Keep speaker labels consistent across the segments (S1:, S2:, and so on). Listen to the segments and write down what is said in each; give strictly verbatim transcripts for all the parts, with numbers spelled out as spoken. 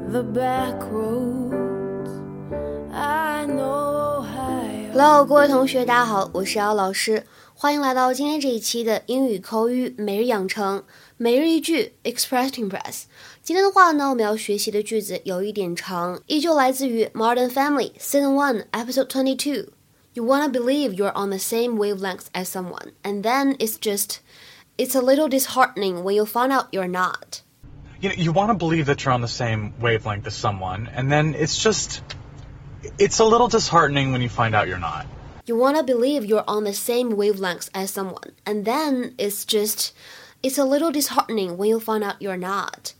S1: the back roads I know I
S2: Hello， 各位同学，大家好，我是姚老师，欢迎来到今天这一期的英语口语每日养成每日一句 Express Impress。今天的话呢，我们要学习的句子有一点长，依旧来自于 Modern Family Season one Episode twenty-two。You wanna believe you're on the same wavelength as someone, and then it's just, it's a little disheartening when you find out you're not.
S3: You know, you want to believe that you're on the same wavelength as someone, and then it's just, it's a little disheartening when you find out you're not.
S2: You wanna believe you're on the same wavelength as someone, and then it's just, it's a little disheartening when you find out you're not.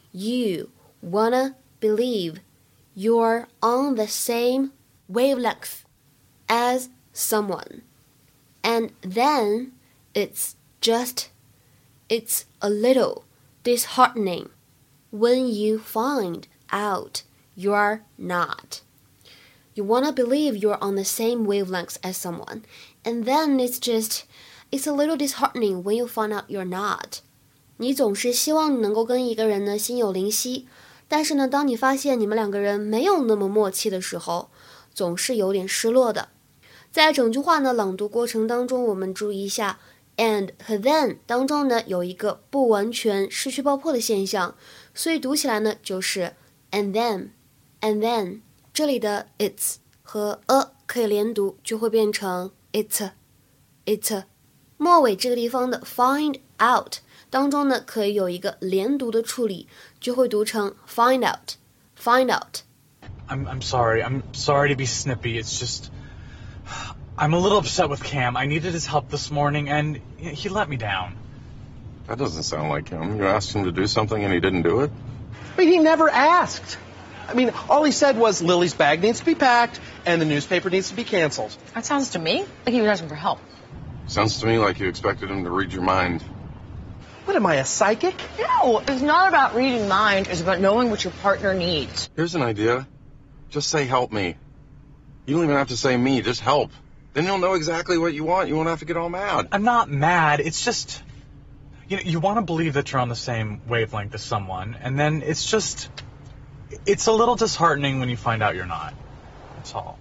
S2: You wanna believe you're on the same wavelength as someone, and then it's just, it's a little disheartening when you find out you're not. You wanna believe you're on the same wavelength as someone, and then it's just, it's a little disheartening when you find out you're not. 你总是希望你能够跟一个人呢心有灵犀，但是呢，当你发现你们两个人没有那么默契的时候，总是有点失落的。在整句话呢朗读过程当中，我们注意一下 and 和 then 当中呢有一个不完全失去爆破的现象，所以读起来呢就是 and then and then， 这里的 it's 和 a 可以连读，就会变成 it's it's。 末尾这个地方的 find out 当中呢可以有一个连读的处理，就会读成 find out find out。
S3: I'm, I'm sorry. I'm sorry to be snippy. It's just, I'm a little upset with Cam. I needed his help this morning, and he let me down.
S4: That doesn't sound like him. You asked him to do something and he didn't do it?
S5: But he never asked. I mean, all he said was Lily's bag needs to be packed and the newspaper needs to be canceled.
S6: That sounds to me like he was asking for help.
S4: Sounds to me like you expected him to read your mind.
S5: What, am I, a psychic?
S6: No, it's not about reading mind. It's about knowing what your partner needs.
S4: Here's an idea. Just say help me. You don't even have to say me, just help. Then you'll know exactly what you want. You won't have to get all mad.
S3: I'm not mad. It's just, you know, you want to believe that you're on the same wavelength as someone, and then it's just, it's a little disheartening when you find out you're not. That's all.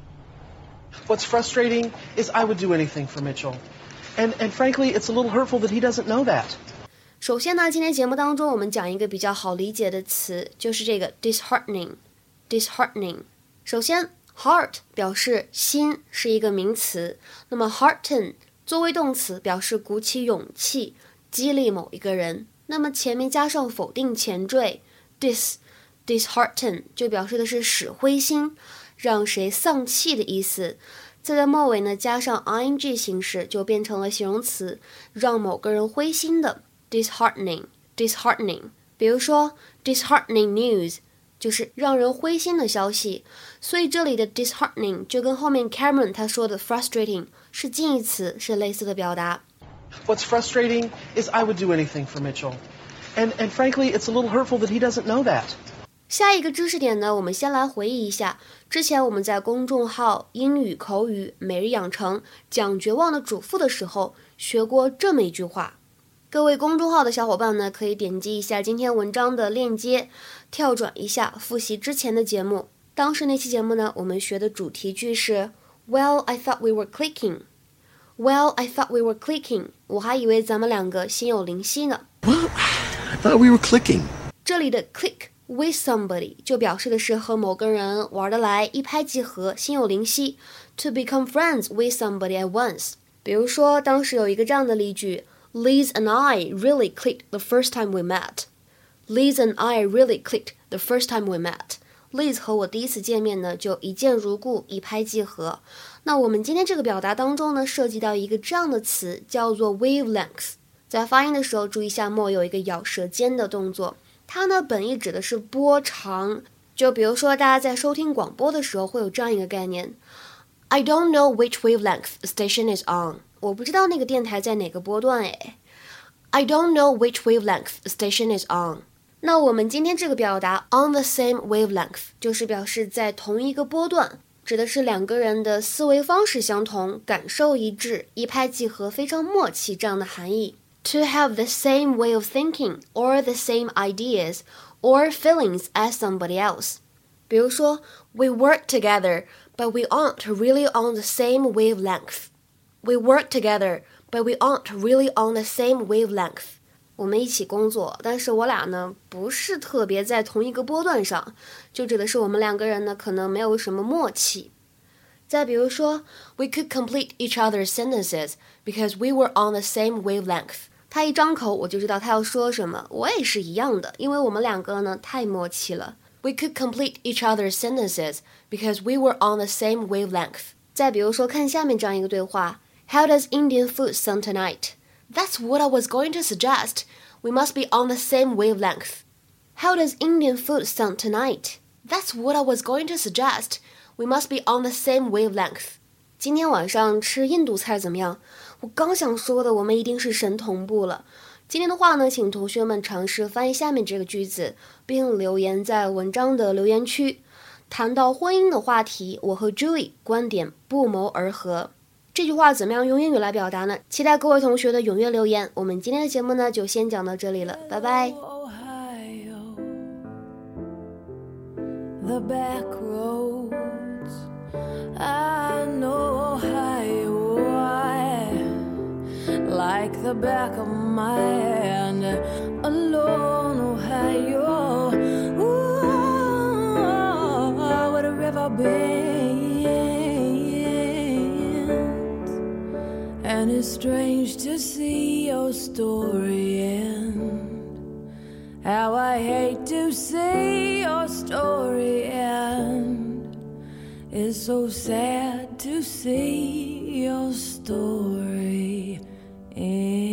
S5: What's frustrating is I would do anything for Mitchell. And, and frankly, it's a little hurtful that he doesn't know that.
S2: 首先呢，今天节目当中我们讲一个比较好理解的词，就是这个 disheartening disheartening。 首先 heart 表示心，是一个名词，那么 hearten 作为动词表示鼓起勇气，激励某一个人，那么前面加上否定前缀 dis dishearten 就表示的是使灰心，让谁丧气的意思，再在末尾呢加上 ing 形式，就变成了形容词，让某个人灰心的 disheartening disheartening。 比如说 disheartening news 就是让人灰心的消息，所以这里的 disheartening 就跟后面 Cameron 他说的 frustrating 是近义词，是类似的表达。
S5: What's frustrating is I would do anything for Mitchell. And, and frankly, it's a little hurtful that he doesn't know that.
S2: 下一个知识点呢，我们先来回忆一下，之前我们在公众号英语口语每日养成讲绝望的主妇的时候学过这么一句话。各位公众号的小伙伴呢，可以点击一下今天文章的链接，跳转一下复习之前的节目。当时那期节目呢，我们学的主题句是 Well, I thought we were clicking. Well, I thought we were clicking. 我还以为咱们两个心有灵犀呢。
S7: Well, I thought we were clicking.
S2: 这里的 click with somebody 就表示的是和某个人玩得来，一拍即合，心有灵犀。 To become friends with somebody at once. 比如说当时有一个这样的例句， Liz and I really clicked the first time we met. Liz and I really clicked the first time we met. Liz 和我第一次见面呢，就一见如故，一拍即合。那我们今天这个表达当中呢，涉及到一个这样的词，叫做 wavelength。 在发音的时候注意一下末有一个咬舌尖的动作，它呢本意指的是波长。就比如说大家在收听广播的时候会有这样一个概念， I don't know which wavelength the station is on. 我不知道那个电台在哪个波段诶。 I don't know which wavelength the station is on. 那我们今天这个表达 on the same wavelength 就是表示在同一个波段，指的是两个人的思维方式相同，感受一致，一拍即合，非常默契这样的含义。To have the same way of thinking or the same ideas or feelings as somebody else. 比如说 We work together, but we aren't really on the same wavelength. We work together, but we aren't really on the same wavelength. 我们一起工作，但是我俩呢不是特别在同一个波段上，就指的是我们两个人呢可能没有什么默契。再比如说 We could complete each other's sentences because we were on the same wavelength. 他一张口我就知道他要说什么，我也是一样的，因为我们两个呢太默契了。We could complete each other's sentences because we were on the same wavelength. 再比如说看下面这样一个对话 How does Indian food sound tonight? That's what I was going to suggest. We must be on the same wavelength. How does Indian food sound tonight? That's what I was going to suggest. We must be on the same wavelength. 今天晚上吃印度菜怎么样？我刚想说的，我们一定是神同步了。今天的话呢，请同学们尝试翻译下面这个句子，并留言在文章的留言区。谈到婚姻的话题，我和 Julie 观点不谋而合。这句话怎么样用英语来表达呢？期待各位同学的踊跃留言。我们今天的节目呢，就先讲到这里了，拜拜。
S1: The back roads, I know Ohio, I like the back of my hand, alone Ohio, ooh, what a river bends, and it's strange to see your story end. How I hate to see your story end. It's so sad to see your story end.